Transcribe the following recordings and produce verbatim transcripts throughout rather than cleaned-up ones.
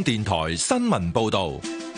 港電台新聞報道。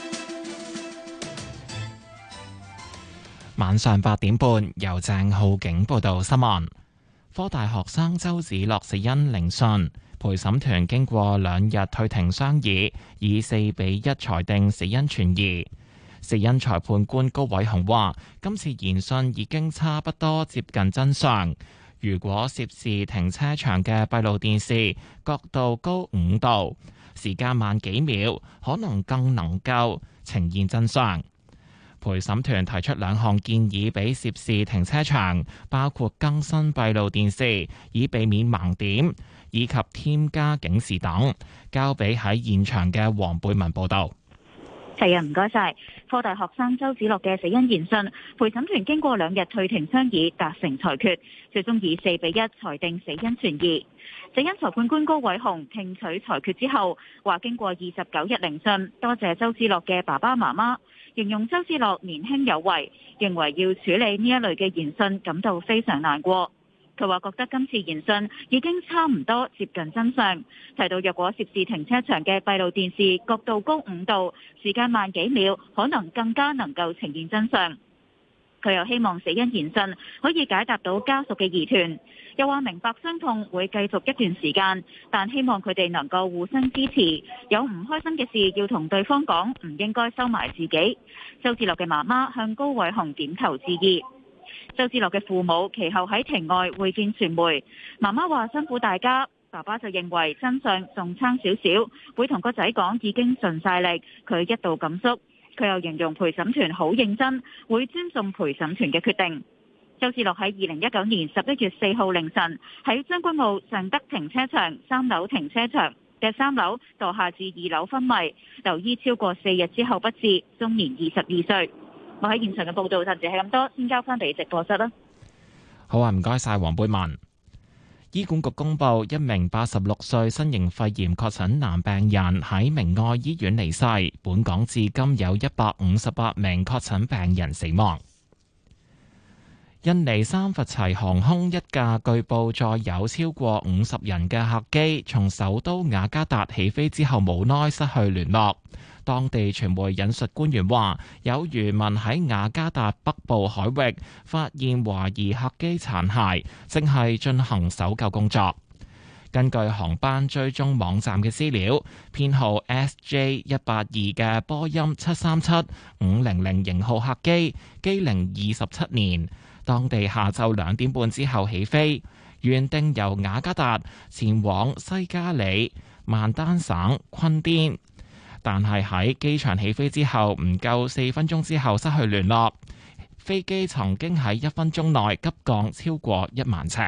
晚上八點半，由鄭浩景報道新聞。科大學生周梓樂死因聆訊，陪審團經過兩日退庭商議，以四比一裁定死因存疑。死因裁判官高偉雄話：今次研訊已經差不多接近真相。如果涉事停車場嘅閉路電視角度高五度，時間慢幾秒，可能更能夠呈現真相。陪審團提出兩項建議俾涉事停車場，包括更新閉路電視以避免盲點，以及添加警示等。交俾喺現場嘅黃貝文報道。 係啊，唔該晒。科大學生周梓樂嘅死因研訊，陪審團經過兩日退庭商議，達成裁決，最終以四比一裁定死因存疑。死因裁判官高偉雄聽取裁決之後，話經過二十九日聆訊，多謝周梓樂嘅爸爸媽媽，形容周梓樂年輕有為，認為要處理呢一類嘅研訊感到非常難過。佢話覺得今次研訊已經差唔多接近真相，提到若果涉事停車場嘅閉路電視角度高五度，時間慢幾秒，可能更加能夠呈現真相。佢又希望死因研訊可以解答到家屬嘅疑團，又話明白傷痛會繼續一段時間，但希望佢哋能夠互相支持，有唔開心嘅事要同對方講，唔應該收埋自己。周梓樂嘅媽媽向高偉雄點頭致意。周梓樂嘅父母其後喺庭外會見傳媒，媽媽話辛苦大家，爸爸就認為真相仲差少少，會同個仔講已經盡晒力，佢一度感觸。佢又形容陪審團好認真，會尊重陪審團嘅決定。周梓樂喺二零一九年十一月四號凌晨喺將軍澳尚德停車場三樓停車場嘅三樓墮下至二樓昏迷，留醫超過四日之後不治，終年二十二歲。我喺現場嘅報道暫時係咁多，先交翻俾直播室啦。 好啊，唔該晒黃貝文。醫管局公布一名八十六歲新型肺炎確診男病人喺明愛醫院離世，本港至今有一百五十八名確診病人死亡。印尼三佛齊航空一架據報載有超過五十人嘅客機，從首都雅加達起飛之後無奈失去聯絡。當地傳媒引述官員話，有漁民喺雅加達北部海域發現懷疑客機殘骸，正係進行搜救工作。根據航班追蹤網站嘅資料，編號 S J 一八二嘅波音七三七五零零型號客機，機齡二十七年，當地下晝兩點半之後起飛，原定由雅加達前往西加里曼丹省昆甸。但係喺機場起飛之後唔夠四分鐘之後失去聯絡，飛機曾經喺一分鐘內急降超過一萬尺。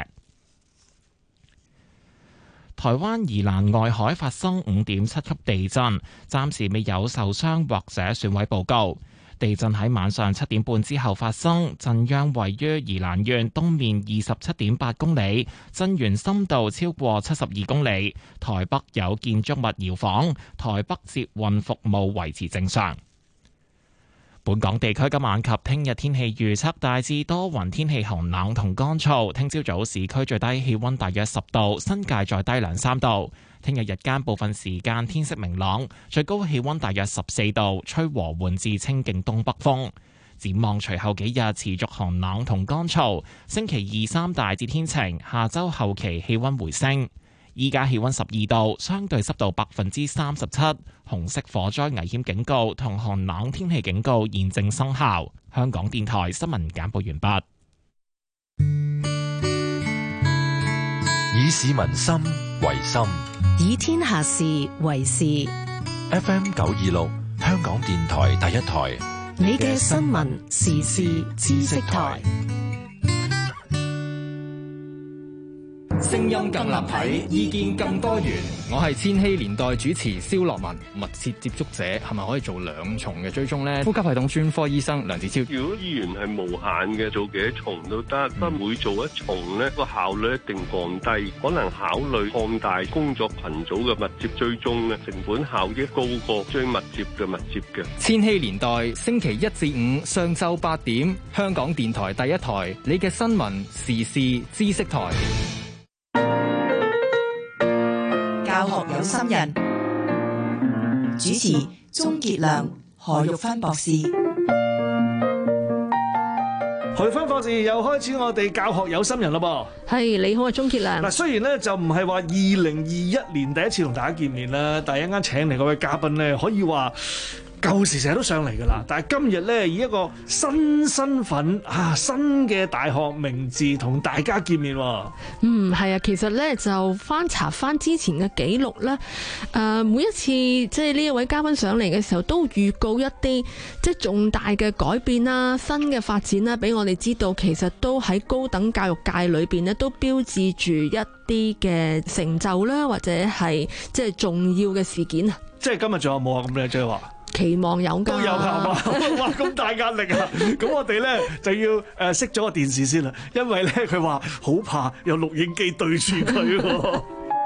台灣宜蘭外海發生五點七級地震，暫時未有受傷或者損毀報告。地震喺晚上七點半之後發生，震央位於宜蘭縣東面二十七點八公里，震源深度超過七十二公里。台北有建築物搖晃，台北捷運服務維持正常。本港地區今晚及聽日天氣預測大致多雲，天氣寒冷同乾燥。聽朝早市區最低氣溫大約十度，新界再低兩三度。聽日日間部分時間天色明朗，最高氣溫大約十四度，吹和緩至清勁東北風。展望隨後幾日持續寒冷同乾燥，星期二三大致天晴，下周後期氣溫回升。依家氣溫十二度，相對濕度百分之三十七，紅色火災危險警告同寒冷天氣警告現正生效。香港電台新聞簡報完畢。 以市民心為心， 以天下事為事。 F M 九二六，香港電台第一台， 你嘅新聞時事知識台。 聲音更立體，意見更多元。我係千禧年代主持蕭樂文。密切接觸者係咪可以做兩重嘅追蹤呢？呼吸系統專科醫生梁子超， 如果醫源係無限嘅，做幾多重都得，不過每做一重呢個效率一定降低。可能考慮擴大工作群組嘅密切追蹤呢，成本效益高過最密切嘅密切嘅。 千禧年代星期一至五上晝八點，香港電台第一台，你嘅新聞時事知識台。 教學有心人， 主持鍾傑良、何玉芬博士。 何玉芬博士又開始我哋教學有心人啦噃。 係，你好啊，鍾傑良。嗱， 雖然咧就唔係話二零二一年第一次同大家見面啦，但係一陣間請嚟嗰位嘉賓咧，可以話舊時成日都上嚟噶啦，但係今日咧以一個新身份啊，新嘅大學名字同大家見面喎。 嗯，係啊，其實咧就翻查翻之前嘅記錄咧，誒、呃、每一次即係呢一位嘉賓上嚟嘅時候，都預告一啲即係重大嘅改變啦、新嘅發展啦，俾我哋知道，其實都喺高等教育界裏邊咧，都標誌住一啲嘅成就啦，或者係即係重要嘅事件啊。即係今日仲有冇啊？咁靚即係話。期望有㗎，都有係嘛？哇！咁大壓力啊！咁我哋咧就要誒熄咗個電視先啦，因為咧佢話好怕有錄影機對住佢喎。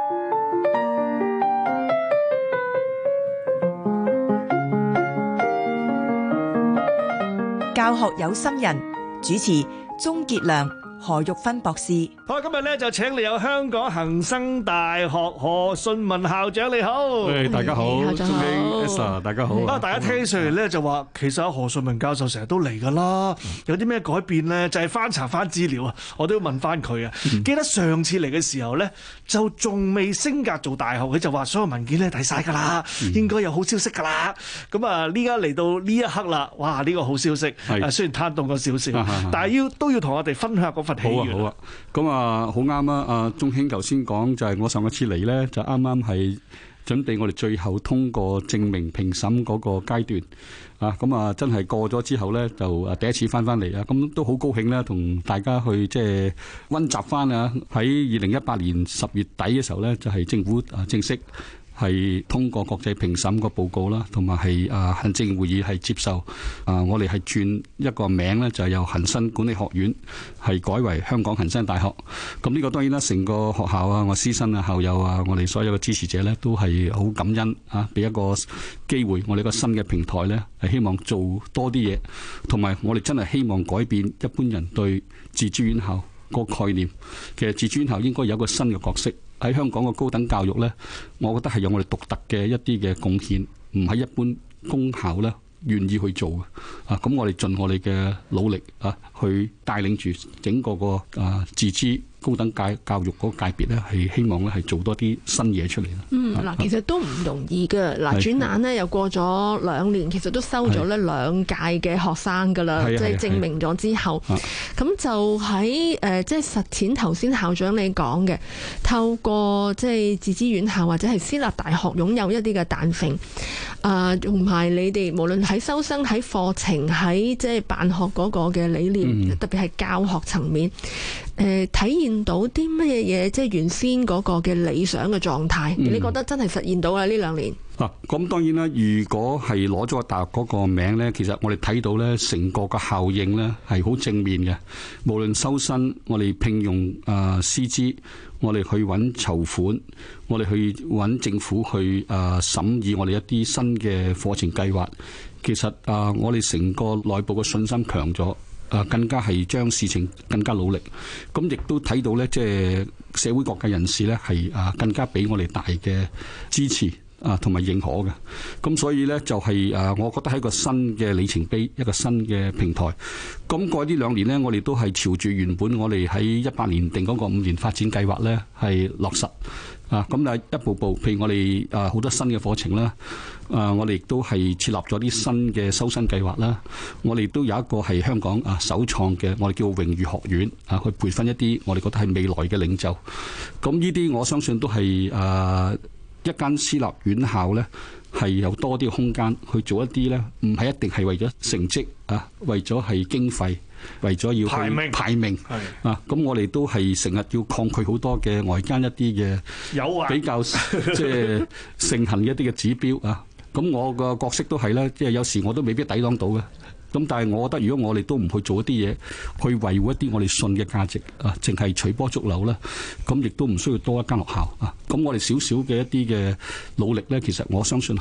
教學有心人主持鍾傑良、何玉芬博士。 好，今日咧就請你有香港恒生大學何順文校長，你好。 誒，大家好，鍾興 Esther， 大家好。啊， 大家聽上嚟咧就話，其實阿何順文教授成日都嚟㗎啦，有啲咩改變咧？就係翻查翻資料啊，我都要問翻佢啊。記得上次嚟嘅時候咧，就仲未升格做大學，佢就話所有文件咧睇晒㗎啦，應該有好消息㗎啦。咁啊，呢家嚟到呢一刻啦，哇！呢個好消息，誒雖然攤凍咗少少，但係要都要同我哋分享嗰份喜悅。 好啊，咁啊，好啱啊！阿鍾興頭先講就係我上一次嚟咧，就啱啱係準備我哋最後通過證明評審嗰個階段啊！咁啊，真係過咗之後咧，就啊第一次翻翻嚟啊！咁都好高興咧，同大家去即係溫習翻啊！喺二零一八年十月底嘅時候咧，就係政府啊正式係通過國際評審個報告啦，同埋係啊行政會議係接受啊，我哋係轉一個名咧，就係由恒生管理學院係改為香港恒生大學。咁呢個當然啦，成個學校啊，我師生啊、校友啊，我哋所有嘅支持者咧，都係好感恩啊，俾一個機會，我哋一個新嘅平台咧，係希望做多啲嘢，同埋我哋真係希望改變一般人對自資院校個概念。其實自資院校應該有一個新嘅角色。喺香港嘅高等教育呢，我覺得係有我哋獨特嘅一啲嘅貢獻，唔係一般公校呢願意去做嘅。啊，咁我哋盡我哋嘅努力啊，去帶領住整個個啊自資高等教教育嗰個界別咧，係希望咧係做多啲新嘢出嚟啦。嗯，嗱，其實都唔容易嘅。嗱，轉眼咧又過咗兩年，其實都收咗咧兩屆嘅學生噶啦，即係證明咗之後，咁就喺誒即係實踐頭先校長你講嘅，透過即係自資院校或者係私立大學擁有一啲嘅彈性，啊，同埋你哋無論喺收生、喺課程、喺即係辦學嗰個嘅理念，嗯、特別係教學層面，誒、呃、體現到啲乜嘢嘢，即係原先嗰個嘅理想嘅狀態，嗯、你覺得真係實現到啦呢兩年？嗱，咁當然啦，如果係攞咗個大學嗰個名咧，其實我哋睇到咧，成個個效應咧係好正面嘅。無論收生，我哋聘用啊師資，我哋去揾籌款，我哋去揾政府去啊審議我哋一啲新嘅課程計劃。其實啊，我哋成個內部嘅信心強咗。啊，更加係將事情更加努力，咁亦都睇到咧，即係社會各界人士咧係啊更加俾我哋大嘅支持啊，同埋認可嘅。咁所以咧就係啊，我覺得係一個新嘅里程碑，一個新嘅平台。咁過去呢兩年呢，我哋都係朝住原本我哋喺一八年定嗰個五年發展計劃咧係落實啊。咁啊一步步，譬如我哋啊好多新嘅課程啦。啊！我哋亦都係設立咗啲新嘅收生計劃啦。我哋都有一個係香港啊首創嘅，我哋叫榮譽學院啊，去培訓一啲我哋覺得係未來嘅領袖。咁呢啲我相信都係啊一間私立院校咧，係有多啲空間去做一啲咧，唔係一定係為咗成績啊，為咗係經費，為咗要排名排名啊。咁我哋都係成日要抗拒好多嘅外間一啲嘅誘惑，比較即係盛行一啲嘅指標啊。咁我個角色都係啦，即係有時我都未必抵擋到嘅。咁但係我覺得，如果我哋都唔去做一啲嘢，去維護一啲我哋信嘅價值啊，淨係隨波逐流啦，咁亦都唔需要多一間學校啊。咁我哋少少嘅一啲嘅努力咧，其實我相信係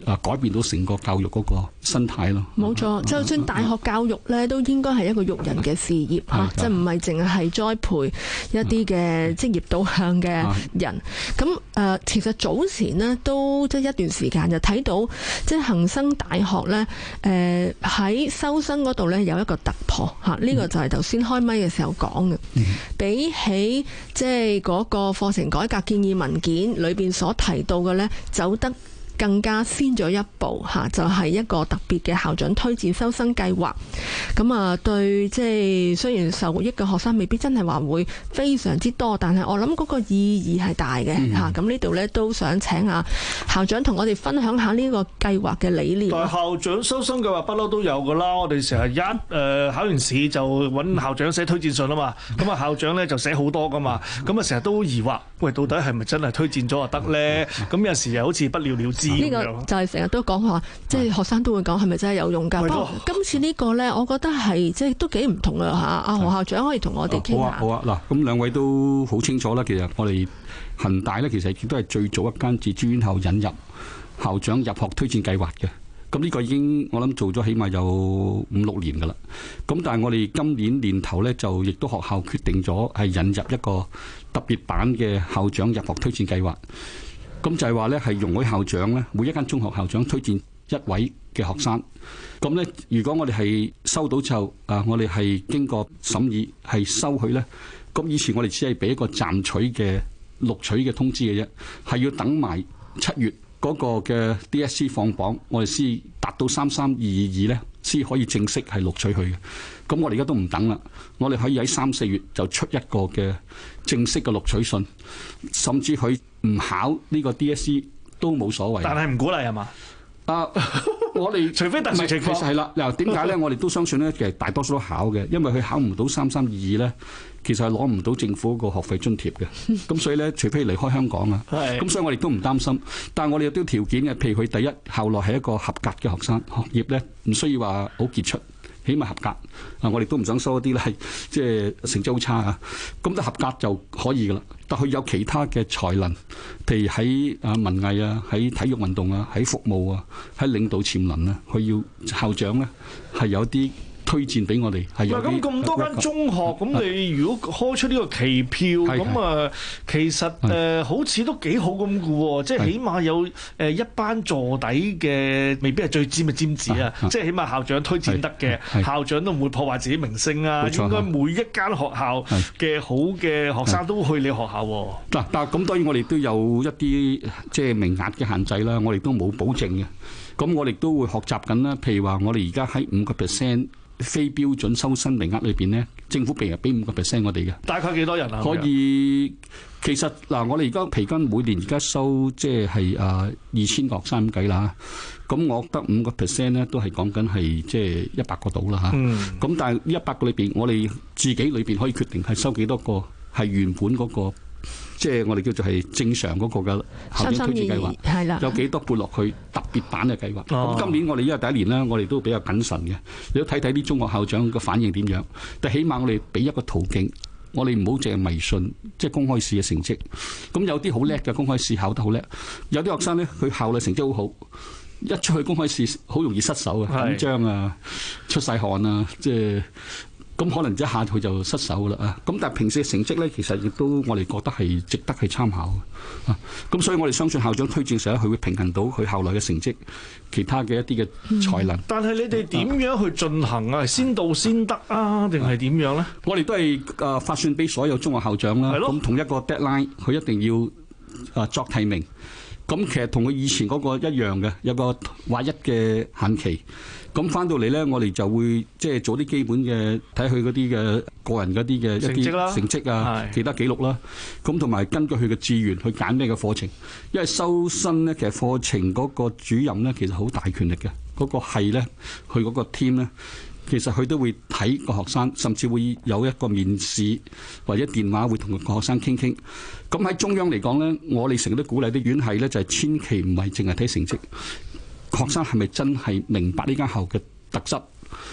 啊改變到成個教育嗰個生態咯。 冇錯，就算大學教育咧，都應該係一個育人嘅事業嚇，即係唔係淨係栽培一啲嘅職業導向嘅人。咁誒、呃，其實早前呢，都即係一段時間就睇到，即係恒生大學咧誒喺收生嗰度咧有一個突破嚇，呢、呢個就係頭先開咪嘅時候講嘅。嗯、比起即係嗰個課程改革建議文件裏邊所提到嘅咧，走得更加先咗一步嚇，就係一個特別嘅校長推薦收生計劃。咁啊，對即係雖然受益嘅學生未必真係話會非常之多，但係我諗嗰個意義係大嘅嚇。咁、嗯、呢度呢，都想請啊校長同我哋分享下呢個計劃嘅理念。 但係校長收生計劃不嬲都有㗎啦，我哋成日一誒、呃、考完試就揾校長寫推薦信啊嘛。咁啊校長呢就寫好多㗎嘛。咁啊成日都疑惑，喂，到底係咪真係推薦咗就得呢？咁有時又好似不了了之。呢個就係成日都講話，即係學生都會講係咪真係有用㗎？不過今次呢個呢，我覺得係即係都幾唔同啊！嚇，阿何校長可以同我哋傾下。 好啊，好啊，嗱，咁兩位都好清楚啦。其實我哋恒大呢，其實亦都係最早一間自資院校引入校長入學推薦計劃嘅。咁呢個已經我諗做咗起碼有五六年㗎啦。咁但係我哋今年年頭呢，就亦都學校決定咗係引入一個特別版嘅校長入學推薦計劃。咁就係話咧，係容許校長咧，每一間中學校長推薦一位嘅學生。咁咧，如果我哋係收到之後，啊，我哋係經過審議係收佢咧。咁以前我哋只係俾一個暫取嘅錄取嘅通知嘅啫，係要等埋七月嗰個嘅 D S C 放榜，我哋先達到三三二二二咧，先可以正式係錄取佢嘅。咁我哋而家都唔等啦，我哋可以喺三四月就出一個嘅正式嘅錄取信，甚至佢唔考呢個 D S C 都冇所謂。 但係唔鼓勵係嘛？ 啊，我哋除非特殊情況， 其實係啦。嗱，點解咧？我哋都相信咧，其實大多數都考嘅，因為佢考唔到三三二二咧，其實係攞唔到政府嗰個學費津貼嘅。咁所以咧，除非離開香港啊，咁所以我哋都唔擔心。但係我哋有啲條件嘅，譬如佢第一校內係一個合格嘅學生，學業咧唔需要話好傑出。起碼合格啊！我哋都唔想收一啲咧，係即係成績好差啊。咁都合格就可以噶啦。但佢有其他嘅才能，譬如喺啊文藝啊，喺體育運動啊，喺服務啊，喺領導潛能啊，佢要校長咧係有啲推薦俾我哋。係有啲。咁咁多間中學，咁你如果開出呢個期票，咁啊，其實誒好似都幾好咁嘅喎。即係起碼有誒一班坐底嘅，未必係最尖嘅尖子啊。即係起碼校長推薦得嘅，校長都唔會破壞自己名聲啊。應該每一間學校嘅好嘅學生都去你學校。嗱，但係咁當然我哋都有一啲即係名額嘅限制啦。我哋都冇保證嘅。咁我哋都會學習緊啦。譬如話，我哋而家喺五個 percent。非標準收生名額裏邊呢，政府平日俾五個 percent 我哋嘅。大概幾多人啊？可以，其實嗱，我哋而家皮筋每年而家收即係啊二千個學生咁計啦。咁我得五個 percent 咧，都係講緊係即係一百個到啦嚇。咁、嗯、但係呢一百個裏邊，我哋自己裏邊可以決定係收幾多個係原本嗰、嗰個。即係我哋叫做係正常嗰個嘅校長推薦計劃，係啦，有幾多撥落去特別版嘅計劃。咁、哦、今年我哋因為第一年咧，我哋都比較謹慎嘅。你都睇睇啲中學校長嘅反應點樣。但起碼我哋俾一個途徑，我哋唔好淨係迷信，即係公開試嘅成績。咁有啲好叻嘅公開試考得好叻，有啲學生咧佢校內成績好好，一出去公開試好容易失手啊，緊張啊，出晒汗啊，即係。咁可能一下佢就失手啦啊！咁但係平時嘅成績咧，其實亦都我哋覺得係值得去參考啊！咁所以我哋相信校長推薦時咧，佢會平衡到佢校內嘅成績，其他嘅一啲嘅才能。嗯、但係你哋點樣去進行啊？先到先得啊？定係點樣咧？我哋都係誒發信俾所有中學校長啦。咁同一個 deadline，佢一定要誒作提名。咁其實同佢以前嗰個一樣嘅，有個劃一嘅限期。咁翻到嚟咧，我哋就會即係做啲基本嘅睇佢嗰啲嘅個人嗰啲嘅一啲成績啊，其他記錄啦。咁同埋根據佢嘅志願去揀咩嘅課程。因為收生咧，其實課程嗰個主任咧，其實好大權力嘅。嗰、嗰個係咧，佢嗰個 team 咧，其實佢都會睇個學生，甚至會有一個面試或者電話會同個學生傾傾。咁喺中央嚟講咧，我哋成日都鼓勵啲院系咧，就係千祈唔係淨係睇成績。學生係咪真係明白呢間校嘅特質？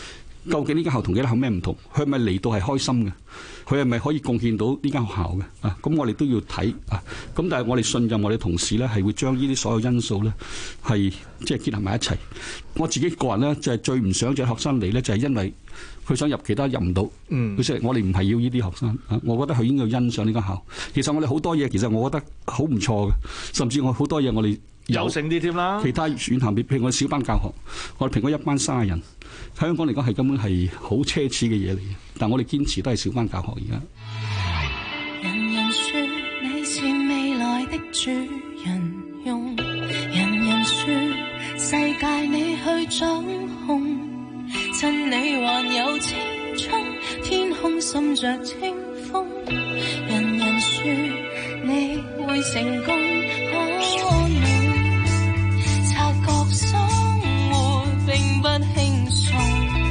究竟呢間校同其他校咩唔同？佢係咪嚟到係開心嘅？佢係咪可以貢獻到呢間學校嘅？啊，咁我哋都要睇啊。咁但係我哋信任我哋同事咧，係會將呢啲所有因素咧係即係結合埋一齊。我自己個人咧就係最唔想隻學生嚟咧，就係因為佢想入其他入唔到。嗯，佢說我哋唔係要呢啲學生啊，我覺得佢應該要欣賞呢間校。其實我哋好多嘢，其實我覺得好唔錯嘅，甚至我好多嘢我哋有勝啲添啦。其他選校，譬如我哋小班教學，我哋平均一班卅人，香港嚟講係根本係好奢侈嘅嘢嚟嘅。但我哋堅持都係小班教學而家。 人人說你是未來的主人翁，人人說世界你去掌控，趁你還有青春，天空滲着清風。人人說你會成功，可你察覺生活並不輕鬆，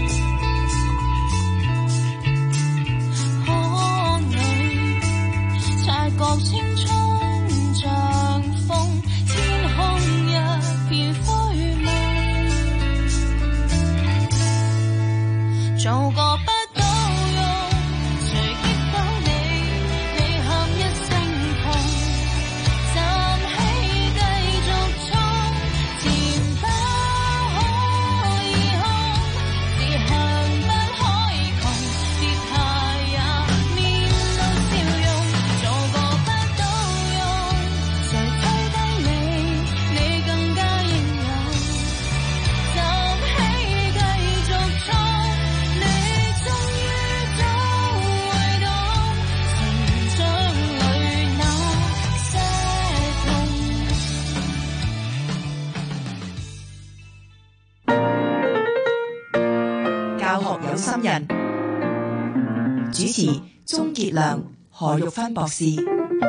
可你察覺青春像風，天空一片灰蒙，做個不心人主持鍾傑良、何玉芬博士。 繼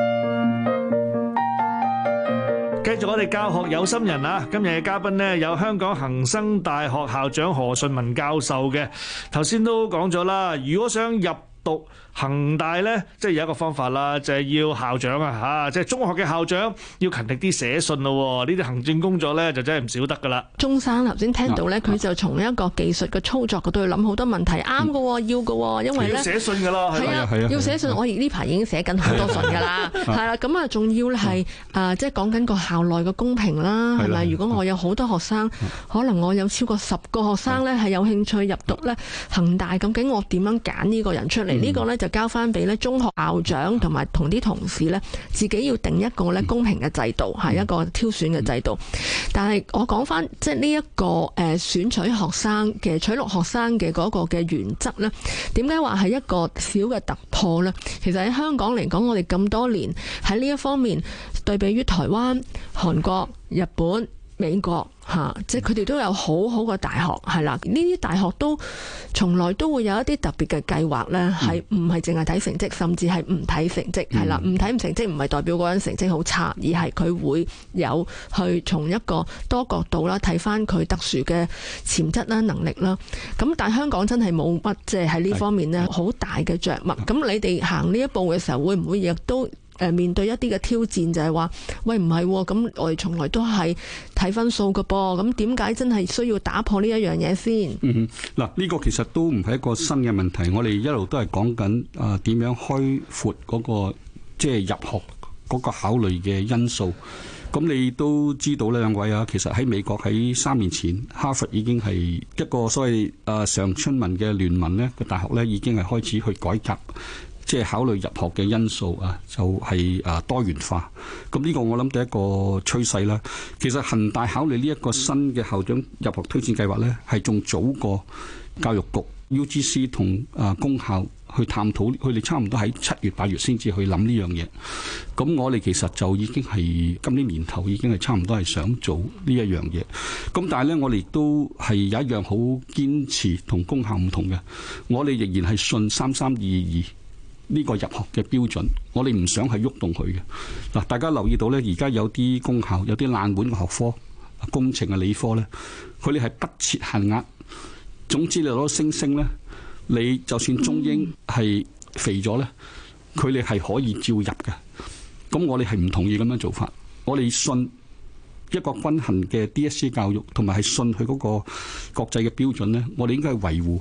續我哋教學有心人啊！今日嘅嘉賓呢，有香港恒生大學校長何順文教授嘅。頭先都講咗啦，如果想入讀恒大咧，即係有一個方法啦，就係、是、要校長啊嚇，即係中學嘅校長要勤力啲寫信咯。呢啲行政工作咧就真係唔少得噶啦。鐘生頭先聽到咧，佢就從一個技術嘅操作嗰度去諗好多問題，啱嘅、嗯，要嘅，因為咧要寫信噶啦，係啊，係啊，要寫信。我而呢排已經寫緊好多信噶啦，係啦，咁啊，仲要咧係啊，即係講緊個校內嘅公平啦，係咪？如果我有好多學生，可能我有超過十個學生咧係有興趣入讀咧恒大，究竟我點樣揀呢個人出嚟？嗯、個呢個咧就交翻俾咧中學校長同埋同啲同事咧，自己要定一個咧公平嘅制度，係、嗯、一個挑選嘅制度。但係我講翻即係呢一個誒選取學生嘅取錄學生嘅嗰個嘅原則咧，點解話係一個小嘅突破咧？其實喺香港嚟講，我哋咁多年喺呢一方面對比於台灣、韓國、日本、美國嚇，即係佢哋都有好好嘅大學，係啦。呢啲大學都從來都會有一啲特別嘅計劃咧，係唔係淨係睇成績，甚至係唔睇成績，係啦。唔睇唔成績唔係代表嗰人成績好差，而係佢會有去從一個多角度啦睇翻佢特殊嘅潛質啦、能力啦。咁但係香港真係冇乜即係喺呢方面咧好大嘅着墨。咁你哋行呢一步嘅時候，會唔會亦都誒面對一啲嘅挑戰，就係話喂唔係咁，我哋從來都係睇分數嘅噃，咁點解真係需要打破呢一樣嘢先？ 嗯哼，嗱呢個其實都唔係一個新嘅問題，我哋一路都係講緊啊點樣開闊嗰個即係入學嗰個考慮嘅因素。咁你都知道呢兩位啊，其實喺美國喺三年前，哈佛已經係一個所謂啊常春文嘅聯盟呢個大學呢已經係開始去改革。即係考慮入學嘅因素啊，就係啊多元化。咁呢個我諗第一個趨勢啦。其實恒大考慮呢一個新嘅校長入學推薦計劃呢，係仲早過教育局 U G C 同啊公校去探討，佢哋差唔多喺七月八月先至去諗呢樣嘢。咁我哋其實就已經係今年年頭已經係差唔多係想做呢一樣嘢。咁但係呢，我哋都係有一樣好堅持同公校唔同嘅，我哋仍然係信三三二二。呢個入學嘅標準，我哋唔想係喐動佢嘅。嗱，大家留意到呢，而家有啲公校有啲冷門嘅學科，工程啊、理科呢，佢哋係不設限額。總之你攞星星呢，你就算中英係肥咗呢，佢哋係可以照入嘅。咁我哋係唔同意咁樣做法。我哋信一個均衡嘅 D S E 教育，同埋係信佢嗰個國際嘅標準呢，我哋應該係維護。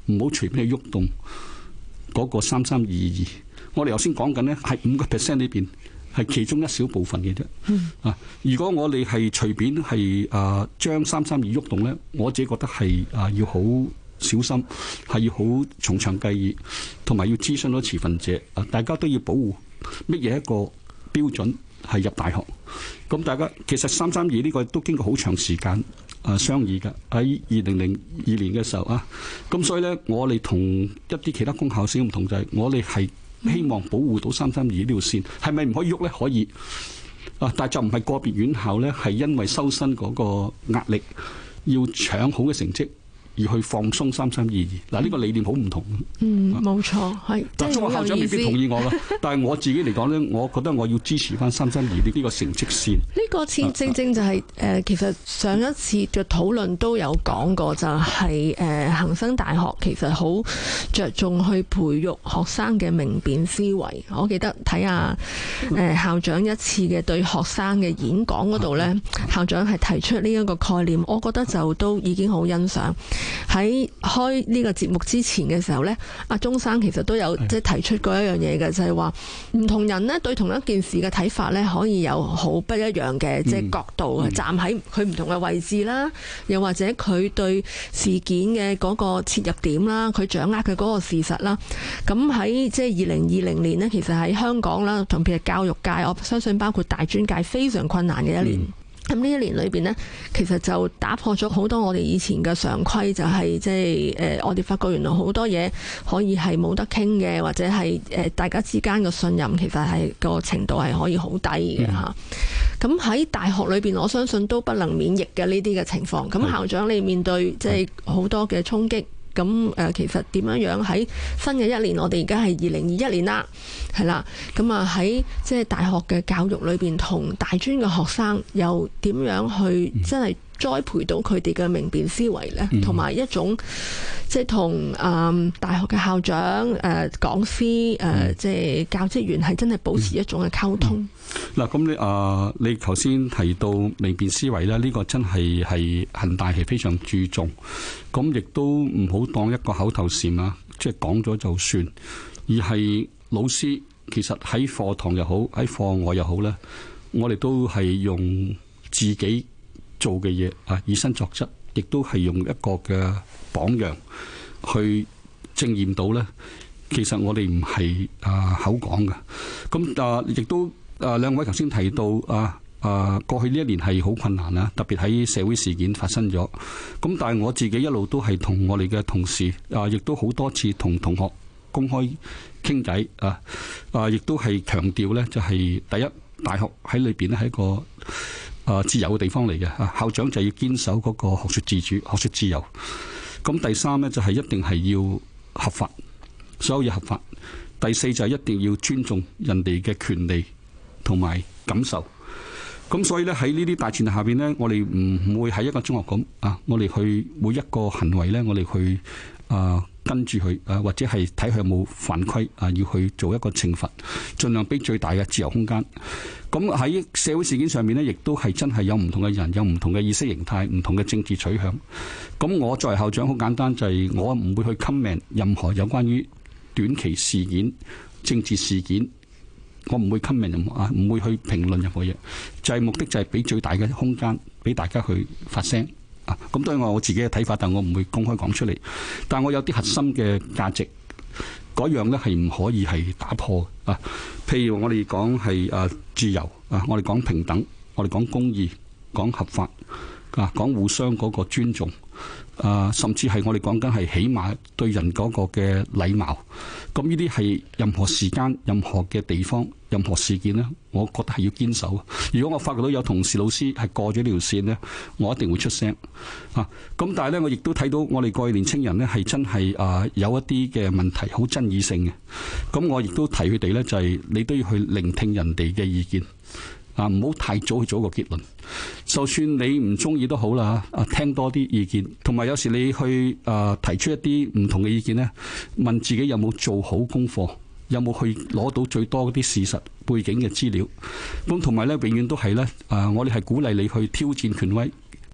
唔好隨便去喐動嗰個三三二二。我哋頭先講緊呢，係五個 percent 裏邊係其中一小部分嘅啫。嗯、啊，如果我哋係隨便係啊將三三二喐動咧，我自己覺得係啊要好小心，係要好從長計議，同埋要諮詢到持份者啊，大家都要保護乜嘢一個標準係入大學。咁大家其實三三二呢個都經過好長時間啊商議嘅，喺二零零二年嘅時候啊，咁所以咧我哋同一啲其他公校先唔同，就係、是、我哋係希望保護到三三二呢條線，係咪唔可以喐咧？可以啊，但係就唔係個別院校咧，係因為收生嗰個壓力要搶好嘅成績而去放鬆三三二二。嗱，呢個理念好唔同。 嗯，冇錯，係。 嗱，中學校長未必同意我㗎，但係我自己嚟講咧，我覺得我要支持翻三三二呢個成績線。 呢個正正正就係、是、誒、呃，其實上一次嘅討論都有講過，就係誒恒生大學其實好着重去培育學生嘅明辨思維。我記得睇下誒校長一次嘅對學生嘅演講嗰度咧，校長係提出呢一個概念，我覺得就都已經好欣賞。喺開呢個節目之前嘅時候呢，阿鐘生其實都有即係提出過一樣嘢嘅，就係話唔同人呢對同一件事嘅睇法呢，可以有好不一樣嘅即係角度，嗯、站喺佢唔同嘅位置啦，又或者佢對事件嘅嗰個切入點啦，佢掌握嘅嗰個事實啦。咁喺即係二零二零年呢，其實喺香港啦，同譬如教育界，我相信包括大專界非常困難嘅一年。嗯咁呢一年裏邊呢，其實就打破咗好多我哋以前嘅常規，就係即係誒，我哋發覺原來好多嘢可以係冇得傾嘅，或者係誒、呃、大家之間嘅信任其實係個程度係可以好低嘅嚇。咁喺、嗯、大學裏邊，我相信都不能免疫嘅呢啲嘅情況。咁校長你面對即係好多嘅衝擊。咁誒，其實點樣樣喺新嘅一年，我哋而家係二零二一年啦，係啦。咁啊喺即係大學嘅教育裏邊，同大專嘅學生又點樣去真係栽培到佢哋嘅明辨思維呢？同埋、嗯、一種即係同誒大學嘅校長、誒、呃、講師、誒、呃、即係教職員係真係保持一種嘅溝通。 嗱、嗯，咁、嗯、你啊，你頭先提到明辨思維咧，呢、這個真係係恒大係非常注重，咁亦都唔好當一個口頭禪啊，即係講咗就算，而係老師其實喺課堂又好，喺課外又好咧，我哋都係用自己做嘅嘢啊，以身作則，亦都係用一個嘅榜樣去證驗到咧。其實我哋唔係啊口講嘅，咁啊亦都啊兩位頭先提到啊啊過去呢一年係好困難啊，特別喺社會事件發生咗。咁但係我自己一路都係同我哋嘅同事啊，亦都好多次同同學公開傾偈啊啊，亦都係強調咧，就係第一，大學喺裏邊咧係一個啊自由嘅地方嚟嘅啊，校長就要堅守嗰個學術自主、學術自由。咁第三咧就係一定係要合法。所有嘢合法。第四就係一定要尊重人哋嘅權利同埋感受。咁所以咧喺呢啲大前提下邊咧，我哋唔會喺一個中學咁啊，我哋去每一個行為咧，我哋去啊跟住佢啊，或者係睇佢有冇犯規啊，要去做一個懲罰，盡量俾最大嘅自由空間。咁喺社會事件上面咧，亦都係真係有唔同嘅人，有唔同嘅意識形態，唔同嘅政治取向。咁我作為校長，好簡單，就係我唔會去 comment 任何有關於短期事件、政治事件，我唔會 comment 任何啊，唔會去評論任何嘢，就係、是、目的就係俾最大嘅空間俾大家去發聲啊。咁當然我自己嘅睇法，但我唔會公開講出嚟。但我有啲核心嘅價值，嗰樣咧係唔可以係打破啊。譬如我哋講係啊自由啊，我哋講平等，我哋講公義，講合法啊，講互相嗰個尊重。啊，甚至係我哋講緊係起碼對人嗰個嘅禮貌，咁呢啲係任何時間、任何嘅地方、任何事件呢，我覺得係要堅守。如果我發覺到有同事老師係過咗呢條線呢，我一定會出聲啊。咁但係呢，我亦都睇到我哋過去年青人呢係真係啊有一啲嘅問題好爭議性嘅，咁我亦都提佢哋呢，就係你都要去聆聽人哋嘅意見。啊！唔好太早去做一個結論，就算你唔中意都好啦。啊，聽多啲意見，同埋有時你去啊提出一啲唔同嘅意見呢，問自己有冇做好功課，有冇去攞到最多嗰啲事實背景嘅資料。咁同埋呢，永遠都係呢，啊，我哋係鼓勵你去挑戰權威，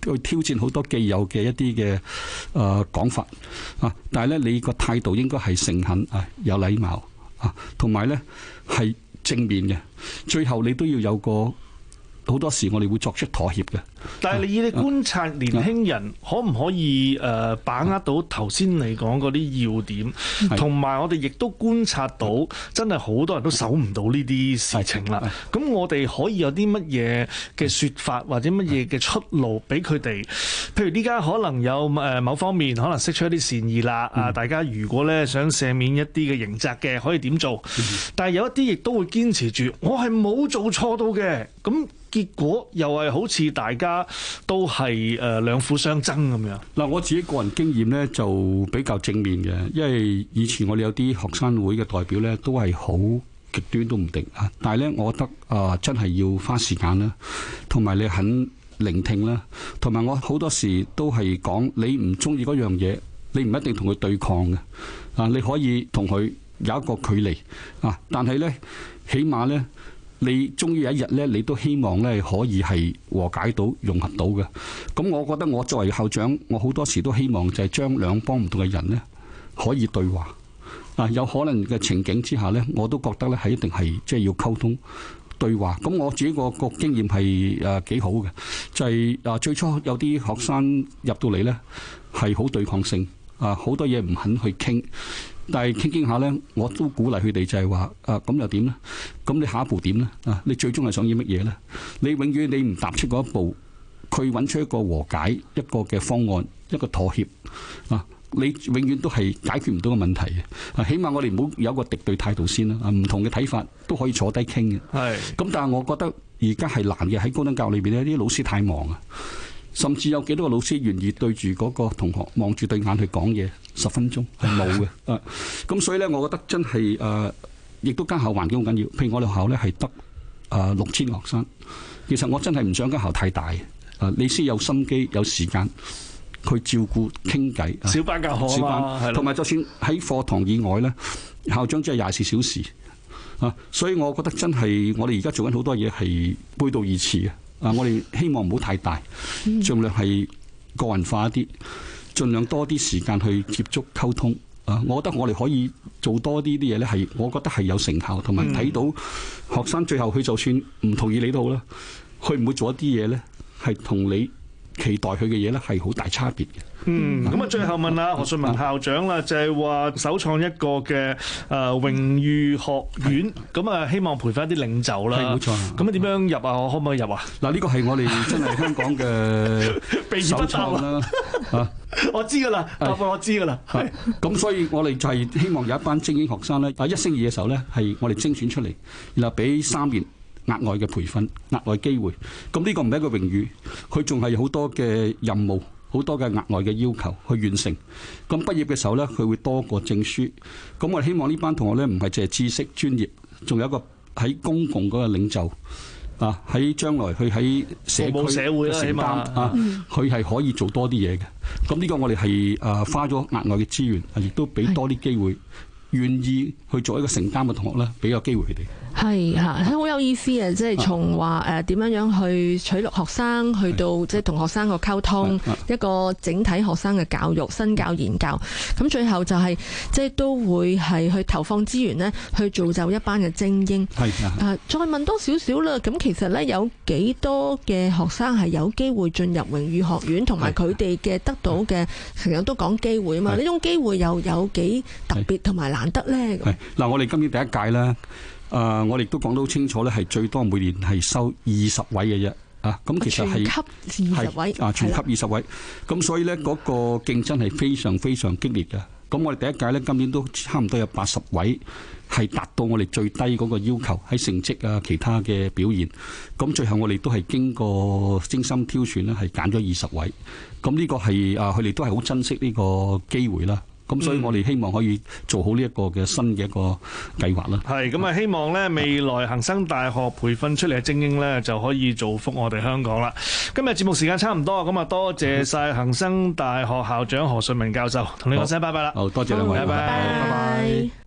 去挑戰好多既有嘅一啲嘅誒講法啊，但係咧你個態度應該係誠懇啊，有禮貌啊，同埋咧係正面嘅，最後你都要有個。好多時我哋會作出妥協嘅， 但係你以你觀察年輕人可唔可以誒把握到頭先你講嗰啲要點，同埋我哋亦都觀察到真係好多人都守唔到呢啲事情啦。咁我哋可以有啲乜嘢嘅説法或者乜嘢嘅出路俾佢哋？譬如呢家可能有誒某方面可能釋出一啲善意啦，啊、嗯、大家如果咧想赦免一啲嘅刑責嘅，可以點做？嗯、但係有一啲亦都會堅持住，我係冇做錯到嘅，咁。結果又係好似大家都係誒兩虎相爭咁樣。 嗱，我自己個人經驗咧就比較正面嘅，因為以前我哋有啲學生會嘅代表咧都係好極端都唔定啊。但係咧，我覺得啊、呃，真係要花時間啦，同埋你肯聆聽啦，同埋我好多時都係講你唔中意嗰樣嘢，你唔一定同佢對抗嘅啊，你可以同佢有一個距離啊，但係咧起碼咧。你終於有一日咧，你都希望咧可以係和解到、融合到嘅。咁我覺得我作為校長，我好多時都希望就係將兩幫唔同嘅人咧可以對話。啊，有可能嘅情景之下咧，我都覺得咧係一定係即係要溝通對話。咁我自己個個經驗係誒幾好嘅，就係誒最初有啲學生入到嚟咧係好對抗性，啊好多嘢唔肯去傾。但係傾傾下咧，我都鼓勵佢哋就係話：啊咁又點咧？咁你下一步點咧？啊，你最終係想要乜嘢咧？你永遠你唔踏出嗰一步，佢揾出一個和解、一個嘅方案、一個妥協啊！你永遠都係解決唔到個問題嘅。啊，起碼我哋唔好有一個敵對態度先啦。啊，唔同嘅睇法都可以坐低傾嘅。係。咁但係我覺得而家係難嘅，喺高等教育裏邊呢啲老師太忙啊。甚至有幾多個老師願意對住嗰個同學望住對眼去講嘢十分鐘係冇嘅啊！咁所以咧，我覺得真係誒，亦、呃、都間校環境好緊要。譬如我哋學校咧係得誒六千個學生，其實我真係唔想間校太大啊！你先有心機有時間去照顧傾偈， 小班教學啊嘛， 同埋就算喺課堂以外咧，校長真係廿四小時啊！所以我覺得真係我哋而家做緊好多嘢係背道而馳嘅。啊！我哋希望唔好太大，盡量係個人化一啲，盡量多啲時間去接觸溝通。啊！我覺得我哋可以做多啲啲嘢咧，係我覺得係有成效，同埋睇到學生最後佢就算唔同意你都好啦，佢唔會做一啲嘢咧，係同你期待佢嘅嘢咧係好大差別嘅。 嗯，咁啊，最後問下何順文校長啦，就係話首創一個嘅誒榮譽學院，咁啊希望培訓一啲領袖啦。係冇錯。咁啊點樣入啊？我可唔可以入啊？ 嗱，呢個係我哋真係香港嘅秘而不答啦。啊，我知噶啦，答案我知噶啦。係。 咁所以我哋就係希望有一班精英學生咧，啊一升二嘅時候咧，係我哋精選出嚟，然後俾三年額外嘅培訓、額外機會。咁呢個唔係一個榮譽，佢仲係好多嘅任務。好多嘅額外嘅要求去完成，咁畢業嘅時候呢，佢會多個證書。咁我哋希望呢班同學呢，唔係淨係知識專業，仲有一個喺公共嗰個領袖啊，喺將來去喺社區社會承擔啊，佢係可以做多啲嘢嘅。咁呢個我哋係誒花咗額外嘅資源，亦都俾多啲機會，願意去做一個承擔嘅同學呢，俾個機會佢哋。 係嚇，好有意思啊！即係從話誒點樣樣去取錄學生，去到即係同學生個溝通，一個整體學生嘅教育、身教言教。咁最後就係即係都會係去投放資源呢，去造就一班嘅精英。係啊，再問多少少啦。咁其實呢，有幾多嘅學生係有機會進入榮譽學院，同埋佢哋嘅得到嘅成日都講機會啊嘛？呢種機會又有幾特別同埋難得呢？ 係嗱，我哋今年第一屆啦。誒、呃，我哋都講得好清楚咧，係最多每年係收二十位嘅啫，啊，咁其實係全級二十位， 啊，全級二十位，咁所以咧嗰、那個競爭係非常非常激烈嘅。咁我哋第一屆咧，今年都差唔多有八十位係達到我哋最低嗰個要求喺成績啊，其他嘅表現。咁最後我哋都係經過精心挑選咧，係揀咗二十位。咁呢個係啊，佢哋都係好珍惜呢個機會啦。咁所以我哋希望可以做好呢一個嘅新嘅一個計劃啦。 係咁啊，希望咧未來恒生大學培訓出嚟嘅精英咧就可以造福我哋香港啦。今日節目時間差唔多，咁啊多謝晒恒生大學校長何順文教授，同你講聲拜拜啦。 好多謝兩位， 拜拜。